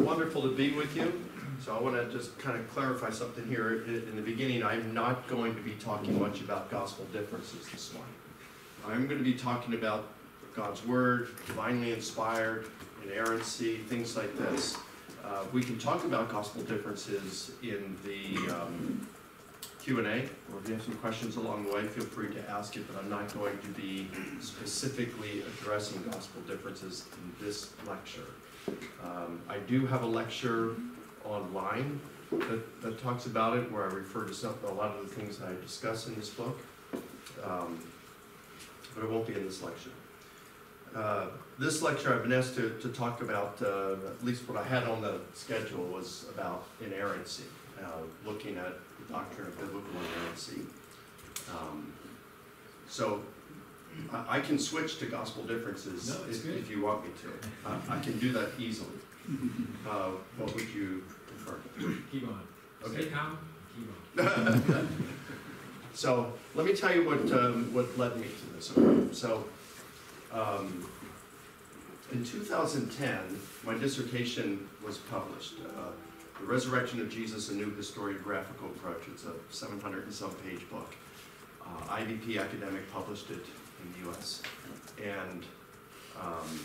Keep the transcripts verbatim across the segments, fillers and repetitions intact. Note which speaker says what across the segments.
Speaker 1: wonderful to be with you. So I want to just kind of clarify something here in the beginning. I'm not going to be talking much about gospel differences this morning. I'm going to be talking about God's Word, divinely inspired, inerrancy, things like this. Uh, we can talk about gospel differences in the um, Q and A, or if you have some questions along the way, feel free to ask it, but I'm not going to be specifically addressing gospel differences in this lecture. Um, I do have a lecture online that, that talks about it, where I refer to some, a lot of the things that I discuss in this book, um, but it won't be in this lecture. Uh, this lecture I've been asked to, to talk about, uh, at least what I had on the schedule was about inerrancy, uh, looking at the doctrine of biblical inerrancy. Um, so I, I can switch to gospel differences
Speaker 2: no,
Speaker 1: if, if you want me to. Uh, I can do that easily. Uh, what would you prefer?
Speaker 2: Keep on.
Speaker 1: Okay.
Speaker 2: Stay calm. Keep on.
Speaker 1: So let me tell you what um, what led me to this. Okay? So um, in two thousand ten, my dissertation was published. Uh, the Resurrection of Jesus: A New Historiographical Approach. It's a seven hundred and some page book. Uh, I V P Academic published it in the U S And um,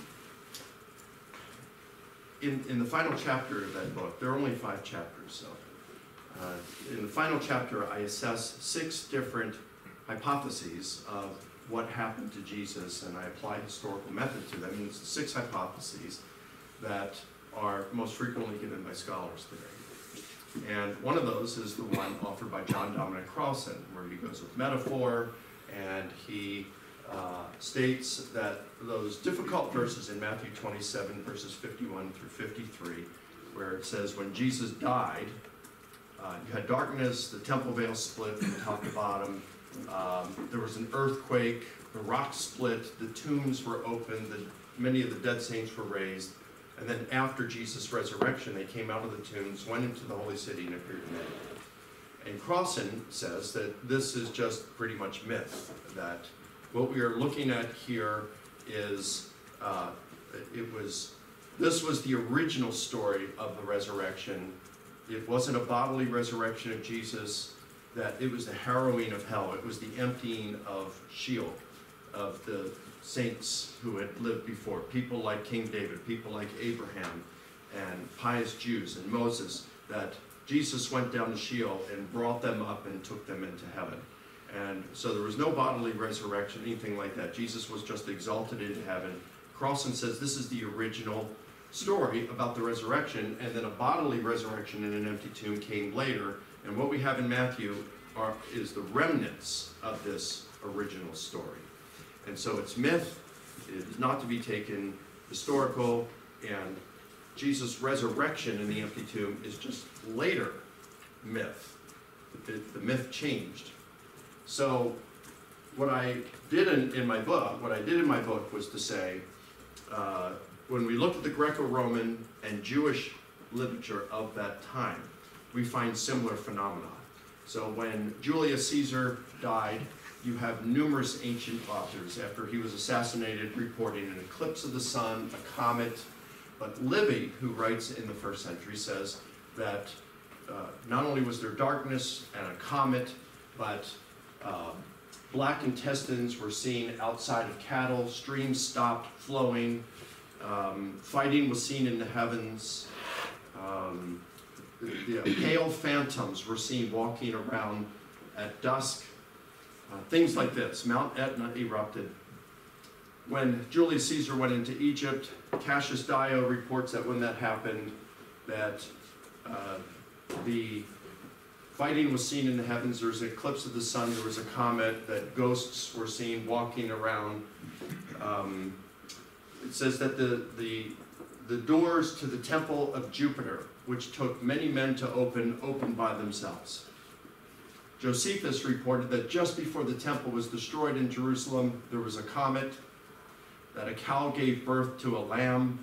Speaker 1: in in the final chapter of that book, there are only five chapters. So. Uh, in the final chapter, I assess six different hypotheses of what happened to Jesus, and I apply historical method to them. And it's six hypotheses that are most frequently given by scholars today. And one of those is the one offered by John Dominic Crossan, where he goes with metaphor, and he uh, states that those difficult verses in Matthew twenty-seven, verses fifty-one through fifty-three, where it says, when Jesus died, Uh, you had darkness, the temple veil split from top to bottom, um, there was an earthquake, the rocks split, the tombs were opened, the, many of the dead saints were raised, and then after Jesus' resurrection, they came out of the tombs, went into the holy city, and appeared to many. And Crossan says that this is just pretty much myth, that what we are looking at here is, uh, it was, this was the original story of the resurrection. It wasn't a bodily resurrection of Jesus, that it was the harrowing of hell. It was the emptying of Sheol, of the saints who had lived before, people like King David, people like Abraham, and pious Jews, and Moses, that Jesus went down to Sheol and brought them up and took them into heaven. And so there was no bodily resurrection, anything like that. Jesus was just exalted into heaven. Crossan says this is the original story about the resurrection, and then a bodily resurrection in an empty tomb came later. And what we have in Matthew are, is the remnants of this original story. And so it's myth, it is not to be taken historical, and Jesus' resurrection in the empty tomb is just later myth. The, the myth changed. So what I did in, in my book, what I did in my book was to say, uh, when we look at the Greco-Roman and Jewish literature of that time, we find similar phenomena. So when Julius Caesar died, you have numerous ancient authors, after he was assassinated, reporting an eclipse of the sun, a comet. But Livy, who writes in the first century, says that uh, not only was there darkness and a comet, but uh, black intestines were seen outside of cattle, streams stopped flowing, Um, fighting was seen in the heavens. Um, the, the pale phantoms were seen walking around at dusk. Uh, things like this. Mount Etna erupted. When Julius Caesar went into Egypt, Cassius Dio reports that when that happened, that uh, the fighting was seen in the heavens. There was an eclipse of the sun. There was a comet. That ghosts were seen walking around. Um, It says that the, the, the doors to the temple of Jupiter, which took many men to open, opened by themselves. Josephus reported that just before the temple was destroyed in Jerusalem, there was a comet, that a cow gave birth to a lamb,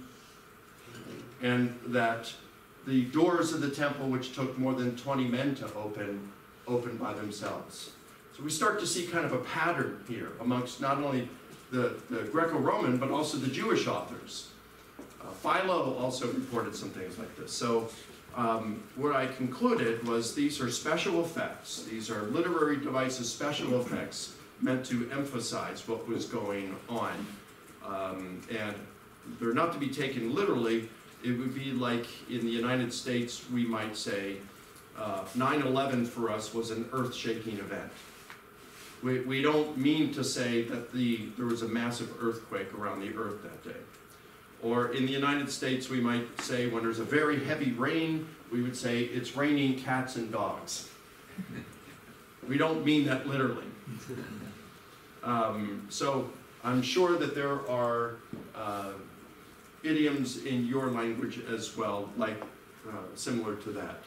Speaker 1: and that the doors of the temple, which took more than twenty men to open, opened by themselves. So we start to see kind of a pattern here amongst not only the, the Greco-Roman, but also the Jewish authors. Uh, Philo also reported some things like this. So um, what I concluded was these are special effects. These are literary devices, special effects meant to emphasize what was going on. Um, and they're not to be taken literally. It would be like in the United States, we might say, nine eleven for us was an earth-shaking event. We, we don't mean to say that the, there was a massive earthquake around the earth that day. Or in the United States, we might say when there's a very heavy rain, we would say it's raining cats and dogs. We don't mean that literally. Um, so I'm sure that there are uh, idioms in your language as well, like uh, similar to that.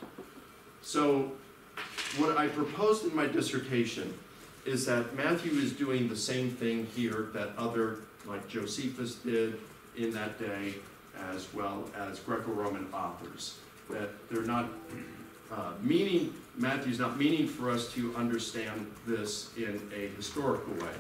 Speaker 1: So what I proposed in my dissertation is that Matthew is doing the same thing here that other, like Josephus did in that day, as well as Greco-Roman authors. That they're not uh, meaning, Matthew's not meaning for us to understand this in a historical way.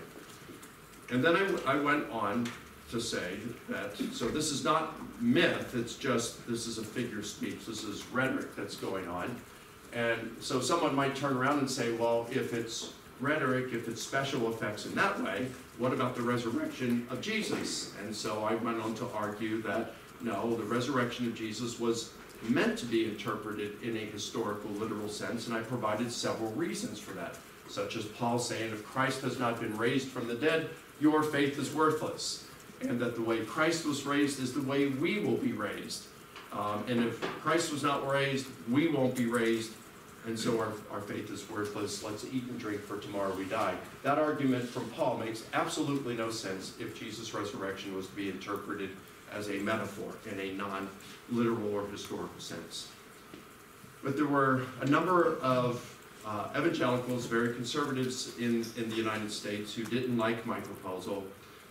Speaker 1: And then I, I went on to say that, so this is not myth, it's just, this is a figure of speech, this is rhetoric that's going on. And so someone might turn around and say, well, if it's rhetoric, if it's special effects in that way, what about the resurrection of Jesus? And so I went on to argue that, no, the resurrection of Jesus was meant to be interpreted in a historical, literal sense, and I provided several reasons for that, such as Paul saying, if Christ has not been raised from the dead, your faith is worthless, and that the way Christ was raised is the way we will be raised. Um, and if Christ was not raised, we won't be raised, and so our, our faith is worthless. Let's eat and drink, for tomorrow we die. That argument from Paul makes absolutely no sense if Jesus' resurrection was to be interpreted as a metaphor in a non-literal or historical sense. But there were a number of uh, evangelicals, very conservatives in, in the United States, who didn't like my proposal.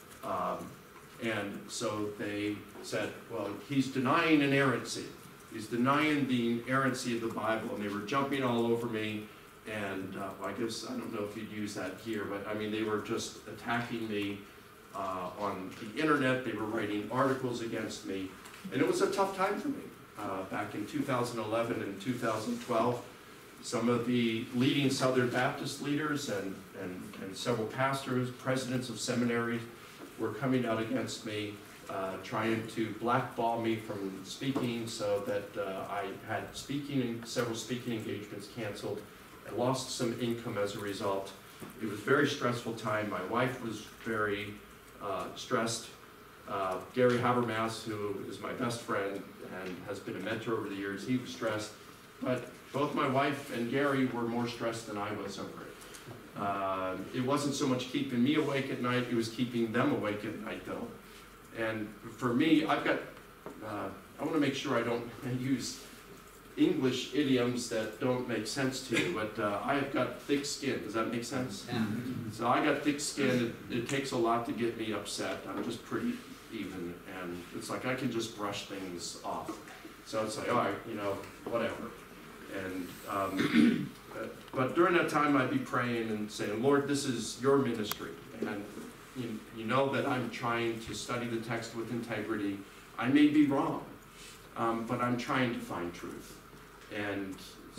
Speaker 1: Um, and so they said, well, he's denying inerrancy. He's denying the inerrancy of the Bible, and they were jumping all over me. And uh, well, I guess, I don't know if you'd use that here, but I mean, they were just attacking me uh, on the internet. They were writing articles against me. And it was a tough time for me uh, back in two thousand eleven and two thousand twelve. Some of the leading Southern Baptist leaders and, and, and several pastors, presidents of seminaries, were coming out against me, uh, trying to blackball me from speaking, so that uh, I had speaking and several speaking engagements canceled. I lost some income as a result. It was a very stressful time. My wife was very uh, stressed. Uh, Gary Habermas, who is my best friend and has been a mentor over the years, he was stressed. But both my wife and Gary were more stressed than I was over it. Uh, it wasn't so much keeping me awake at night, it was keeping them awake at night, though. And for me, I've got, uh, I want to make sure I don't use English idioms that don't make sense to you, but uh, I've got thick skin. Does that make sense? Yeah. So I got thick skin. It, it takes a lot to get me upset. I'm just pretty even, and it's like I can just brush things off. So it's like, all right, you know, whatever. And um, but during that time, I'd be praying and saying, Lord, this is your ministry, and you, you know that I'm trying to study the text with integrity. I may be wrong, um, but I'm trying to find truth. And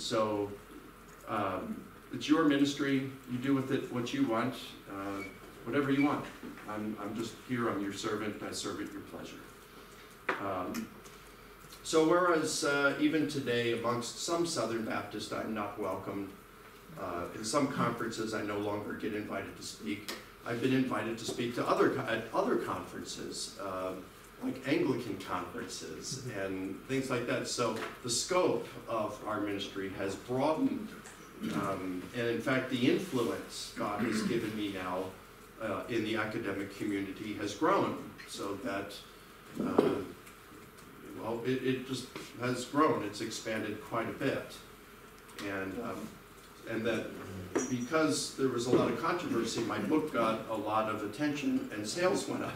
Speaker 1: so um, it's your ministry. You do with it what you want, uh, whatever you want. I'm, I'm just here. I'm your servant. I serve at your pleasure. Um, so whereas uh, even today amongst some Southern Baptists I'm not welcome, uh, in some conferences I no longer get invited to speak. I've been invited to speak to other at other conferences, uh, like Anglican conferences and things like that. So the scope of our ministry has broadened, um, and in fact the influence God has given me now uh, in the academic community has grown, so that uh, well, it, it just has grown. It's expanded quite a bit, and um, and that because there was a lot of controversy, my book got a lot of attention and sales went up.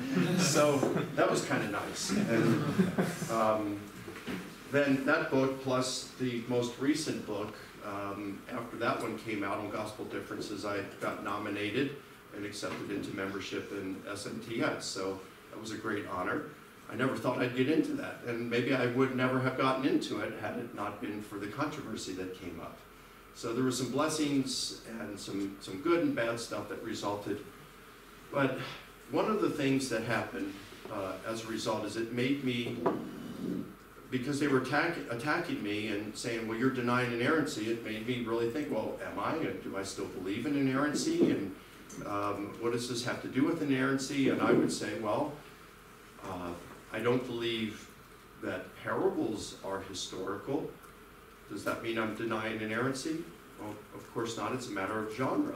Speaker 1: So that was kind of nice. And um, then that book plus the most recent book, um, after that one came out on Gospel Differences, I got nominated and accepted into membership in S N T S. So that was a great honor. I never thought I'd get into that, and maybe I would never have gotten into it had it not been for the controversy that came up. So there were some blessings and some, some good and bad stuff that resulted. But one of the things that happened uh, as a result is it made me, because they were attack, attacking me and saying, well, you're denying inerrancy, it made me really think, well, am I? Do I still believe in inerrancy? And um, what does this have to do with inerrancy? And I would say, well, uh, I don't believe that parables are historical. Does that mean I'm denying inerrancy? Well, of course not. It's a matter of genre.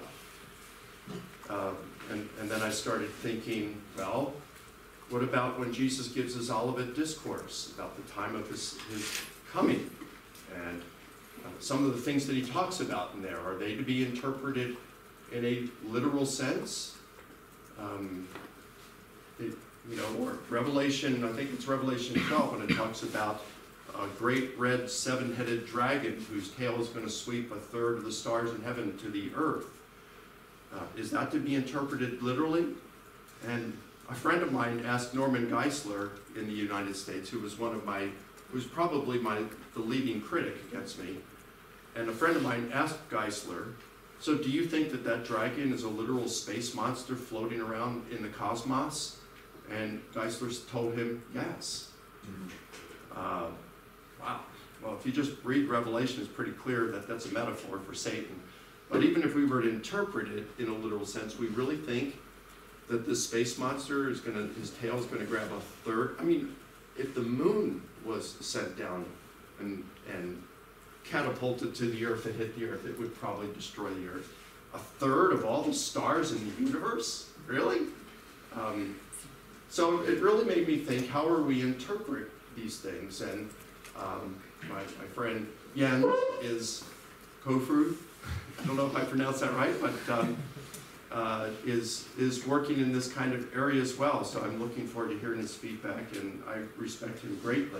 Speaker 1: Uh, and, and then I started thinking, well, what about when Jesus gives his Olivet Discourse about the time of his, his coming? And uh, some of the things that he talks about in there, are they to be interpreted in a literal sense? Um, it, you know, or Revelation, I think it's Revelation twelve, when it talks about a great red seven-headed dragon whose tail is going to sweep a third of the stars in heaven to the earth. Uh, is that to be interpreted literally? And a friend of mine asked Norman Geisler in the United States, who was one of my, who's probably my, the leading critic against me, and a friend of mine asked Geisler, so do you think that that dragon is a literal space monster floating around in the cosmos? And Geisler told him, yes. Mm-hmm. uh, wow. Well, if you just read Revelation, it's pretty clear that that's a metaphor for Satan. But even if we were to interpret it in a literal sense, we really think that this space monster is going to, his tail is going to grab a third. I mean, if the moon was sent down and, and catapulted to the earth and hit the earth, it would probably destroy the earth. A third of all the stars in the universe? Really? Um, so it really made me think, how are we interpret these things? And um, my, my friend Jens is Kofru. I don't know if I pronounced that right, but um, uh, is, is working in this kind of area as well. So I'm looking forward to hearing his feedback, and I respect him greatly.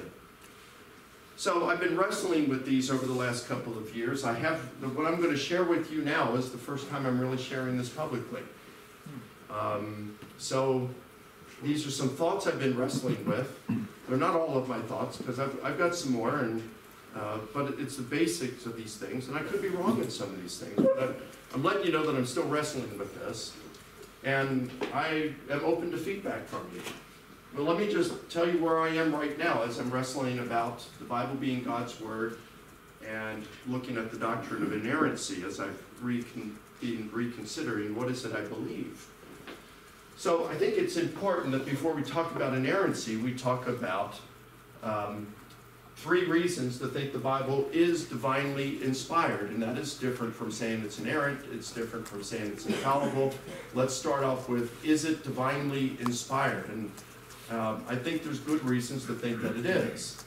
Speaker 1: So I've been wrestling with these over the last couple of years. I have, what I'm going to share with you now is the first time I'm really sharing this publicly. Um, so these are some thoughts I've been wrestling with. They're not all of my thoughts, because I've, I've got some more, and, uh, but it's the basics of these things, and I could be wrong in some of these things, but I'm, I'm letting you know that I'm still wrestling with this, and I am open to feedback from you. But let me just tell you where I am right now as I'm wrestling about the Bible being God's Word and looking at the doctrine of inerrancy as I've recon been reconsidering what is it I believe. So I think it's important that before we talk about inerrancy, we talk about um, three reasons to think the Bible is divinely inspired, and that is different from saying it's inerrant, it's different from saying it's infallible. Let's start off with, is it divinely inspired? And um, I think there's good reasons to think that it is.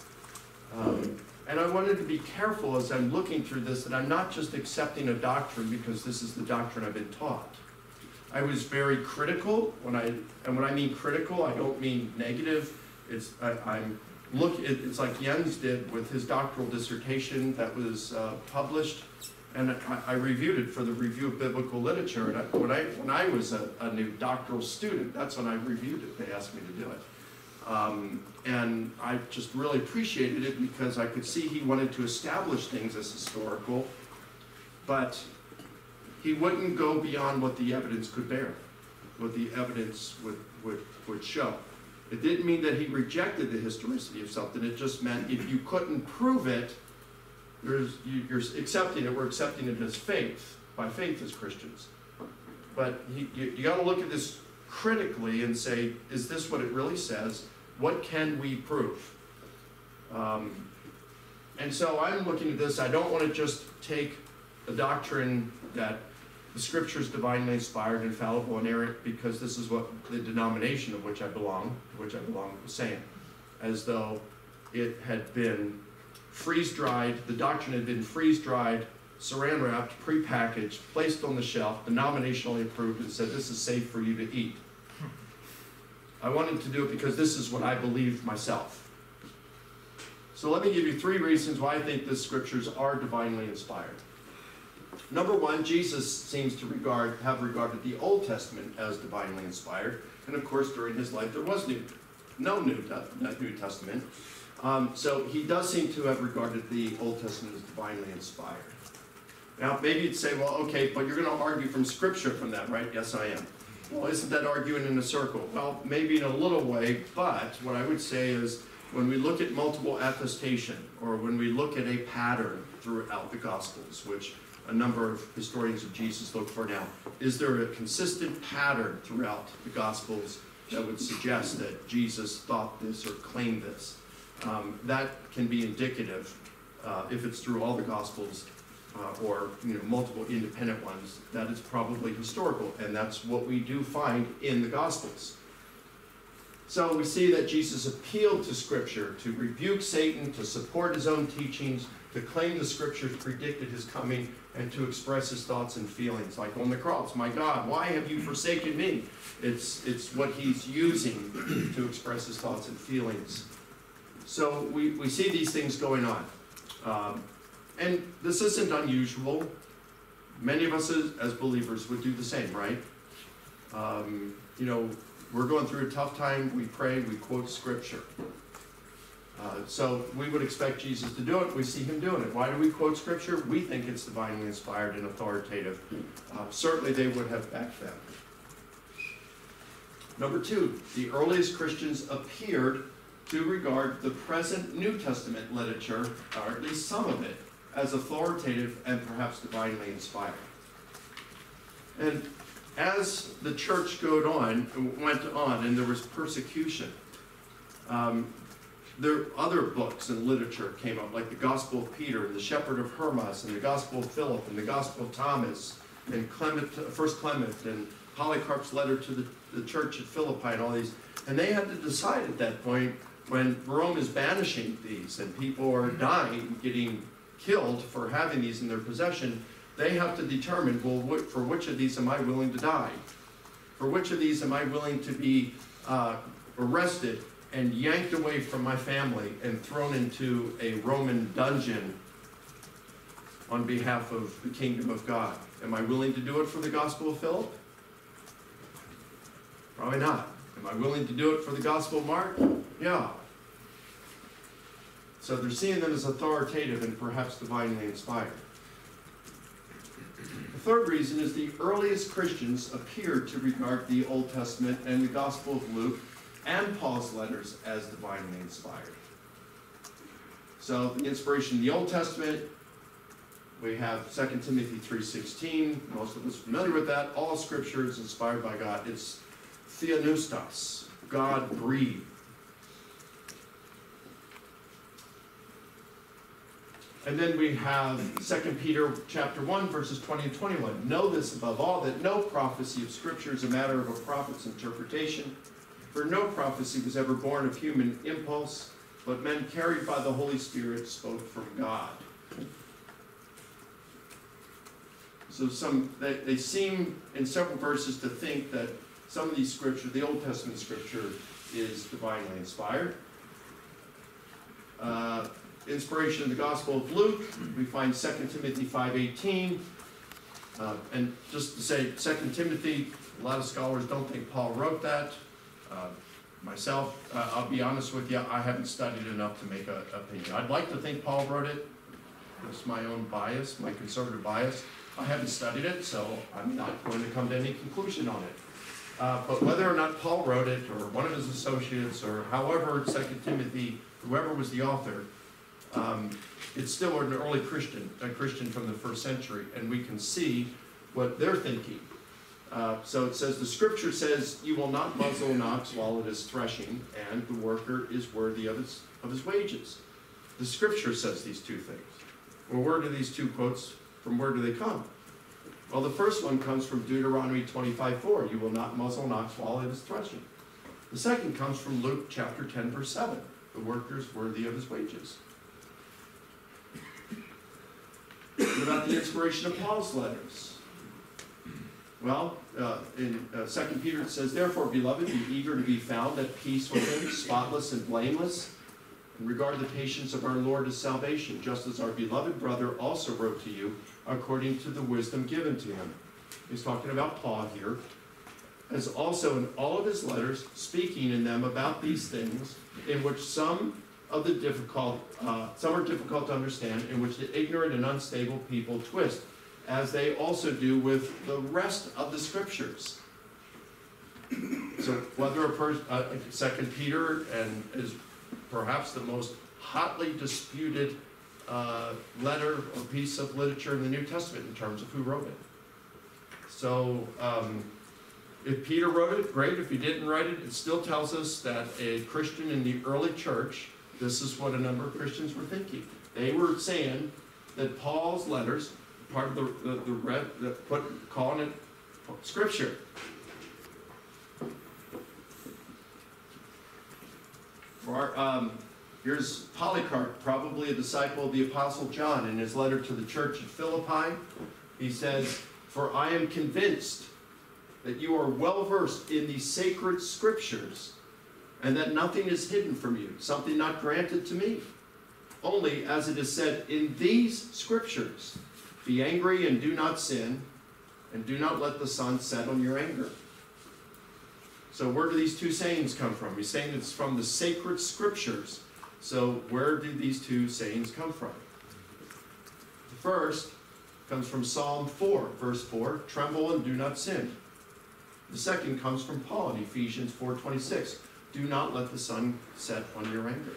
Speaker 1: Um, and I wanted to be careful as I'm looking through this that I'm not just accepting a doctrine because this is the doctrine I've been taught. I was very critical when I, and when I mean critical, I don't mean negative. It's I, I'm look. It, it's like Jens did with his doctoral dissertation that was uh, published, and I, I reviewed it for the Review of Biblical Literature. And I, when I when I was a, a new doctoral student, that's when I reviewed it. They asked me to do it, um, and I just really appreciated it because I could see he wanted to establish things as historical, but he wouldn't go beyond what the evidence could bear, what the evidence would, would, would show. It didn't mean that he rejected the historicity of something. It just meant if you couldn't prove it, you're, you're accepting it. We're accepting it as faith, by faith as Christians. But he, you, you got to look at this critically and say, is this what it really says? What can we prove? Um, and so I'm looking at this. I don't want to just take the doctrine that the Scripture is divinely inspired, infallible, inerrant, because this is what the denomination of which I belong, to which I belong, was saying, as though it had been freeze-dried, the doctrine had been freeze-dried, saran-wrapped, pre-packaged, placed on the shelf, denominationally approved, and said, this is safe for you to eat. I wanted to do it because this is what I believe myself. So let me give you three reasons why I think the Scriptures are divinely inspired. Number one, Jesus seems to regard, have regarded the Old Testament as divinely inspired, and of course during his life there was New no New, New Testament. Um, so he does seem to have regarded the Old Testament as divinely inspired. Now, maybe you'd say, well, okay, but you're going to argue from Scripture from that, right? Yes, I am. Well, isn't that arguing in a circle? Well, maybe in a little way, but what I would say is when we look at multiple attestation, or when we look at a pattern throughout the Gospels, which a number of historians of Jesus look for now, is there a consistent pattern throughout the Gospels that would suggest that Jesus thought this or claimed this? Um, that can be indicative, uh, if it's through all the Gospels, uh, or you know, multiple independent ones, that it's probably historical, and that's what we do find in the Gospels. So we see that Jesus appealed to Scripture to rebuke Satan, to support his own teachings, to claim the Scriptures predicted his coming, and to express his thoughts and feelings, like on the cross. My God, why have you forsaken me? It's, it's what he's using to express his thoughts and feelings. So we, we see these things going on. Um, and this isn't unusual. Many of us as, as believers would do the same, right? Um, you know, we're going through a tough time, we pray, we quote Scripture. Uh, so we would expect Jesus to do it. We see him doing it. Why do we quote Scripture? We think it's divinely inspired and authoritative. Uh, certainly they would have back then. Number two, the earliest Christians appeared to regard the present New Testament literature, or at least some of it, as authoritative and perhaps divinely inspired. And as the church went on, went on and there was persecution, um, there other books and literature came up, like the Gospel of Peter, and the Shepherd of Hermas, and the Gospel of Philip, and the Gospel of Thomas, and Clement, First Clement, and Polycarp's letter to the, the church at Philippi, and all these. And they had to decide at that point, when Rome is banishing these, and people are dying, getting killed for having these in their possession, they have to determine, well, for which of these am I willing to die? For which of these am I willing to be uh, arrested and yanked away from my family and thrown into a Roman dungeon on behalf of the kingdom of God? Am I willing to do it for the Gospel of Philip? Probably not. Am I willing to do it for the Gospel of Mark? Yeah. So they're seeing them as authoritative and perhaps divinely inspired. The third reason is the earliest Christians appeared to regard the Old Testament and the Gospel of Luke and Paul's letters as divinely inspired. So the inspiration in the Old Testament, we have Second Timothy three sixteen. Most of us are familiar with that. All Scripture is inspired by God. It's theopneustos, God breathed. And then we have Second Peter chapter one, verses twenty and twenty-one. Know this above all, that no prophecy of Scripture is a matter of a prophet's interpretation. For no prophecy was ever born of human impulse, but men carried by the Holy Spirit spoke from God. So some they, they seem in several verses to think that some of these scripture, the Old Testament Scripture, is divinely inspired. Uh, Inspiration in the Gospel of Luke, we find Second Timothy five eighteen. Uh, and just to say, Second Timothy, a lot of scholars don't think Paul wrote that. Uh, myself, uh, I'll be honest with you, I haven't studied enough to make an opinion. I'd like to think Paul wrote it. It's my own bias, my conservative bias. I haven't studied it, so I'm not going to come to any conclusion on it. Uh, but whether or not Paul wrote it, or one of his associates, or however Second Timothy, whoever was the author, Um, it's still an early Christian, a Christian from the first century, and we can see what they're thinking. Uh, so it says, the Scripture says, you will not muzzle an ox while it is threshing, and the worker is worthy of his, of his wages. The Scripture says these two things. Well, where do these two quotes, from where do they come? Well, the first one comes from Deuteronomy twenty-five four, you will not muzzle an ox while it is threshing. The second comes from Luke chapter ten, verse seven, the worker is worthy of his wages. What about the inspiration of Paul's letters? Well, uh, in uh, Second Peter it says, therefore, beloved, be eager to be found at peace with him, spotless and blameless, and regard the patience of our Lord as salvation, just as our beloved brother also wrote to you, according to the wisdom given to him. He's talking about Paul here. as also in all of his letters, speaking in them about these things, in which some of the difficult, uh, some are difficult to understand, in which the ignorant and unstable people twist, as they also do with the rest of the scriptures. So whether a person, uh, Second Peter, and is perhaps the most hotly disputed uh, letter or piece of literature in the New Testament in terms of who wrote it. So um, if Peter wrote it, great. If he didn't write it, it still tells us that a Christian in the early church, this is what a number of Christians were thinking. They were saying that Paul's letters, part of the the, the, red, the put calling it Scripture. For our, um, here's Polycarp, probably a disciple of the Apostle John, in his letter to the church at Philippi. He says, "For I am convinced that you are well versed in the sacred Scriptures, and that nothing is hidden from you, something not granted to me. Only, as it is said in these Scriptures, be angry and do not sin, and do not let the sun set on your anger." So where do these two sayings come from? He's saying it's from the sacred Scriptures. So where do these two sayings come from? The first comes from Psalm four, verse four, "Tremble and do not sin." The second comes from Paul in Ephesians four twenty-six, "Do not let the sun set on your anger."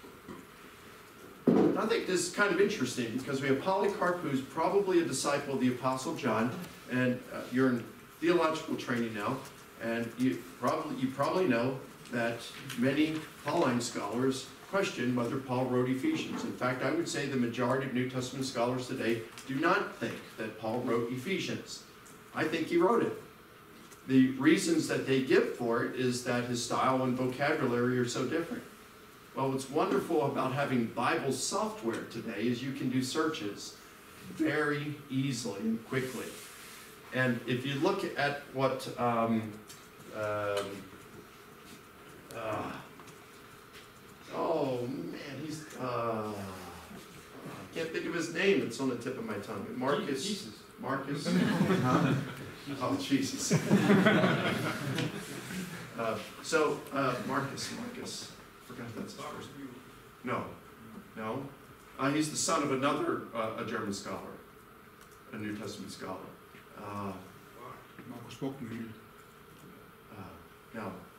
Speaker 1: And I think this is kind of interesting because we have Polycarp, who's probably a disciple of the Apostle John, and uh, you're in theological training now, and you probably, you probably know that many Pauline scholars question whether Paul wrote Ephesians. In fact, I would say the majority of New Testament scholars today do not think that Paul wrote Ephesians. I think he wrote it. The reasons that they give for it is that his style and vocabulary are so different. Well, what's wonderful about having Bible software today is you can do searches very easily and quickly. And if you look at what, um, um, uh, oh man, he's, uh, I can't think of his name, it's on the tip of my tongue. Marcus.
Speaker 2: Jesus.
Speaker 1: Marcus. Huh? Oh, Jesus. uh, so, uh, Marcus, Marcus. I forgot that's his first name. No, no. Uh, he's the son of another, uh, a German scholar, a New Testament scholar. Uh,
Speaker 3: Marcus Bockmühl.
Speaker 1: uh, no.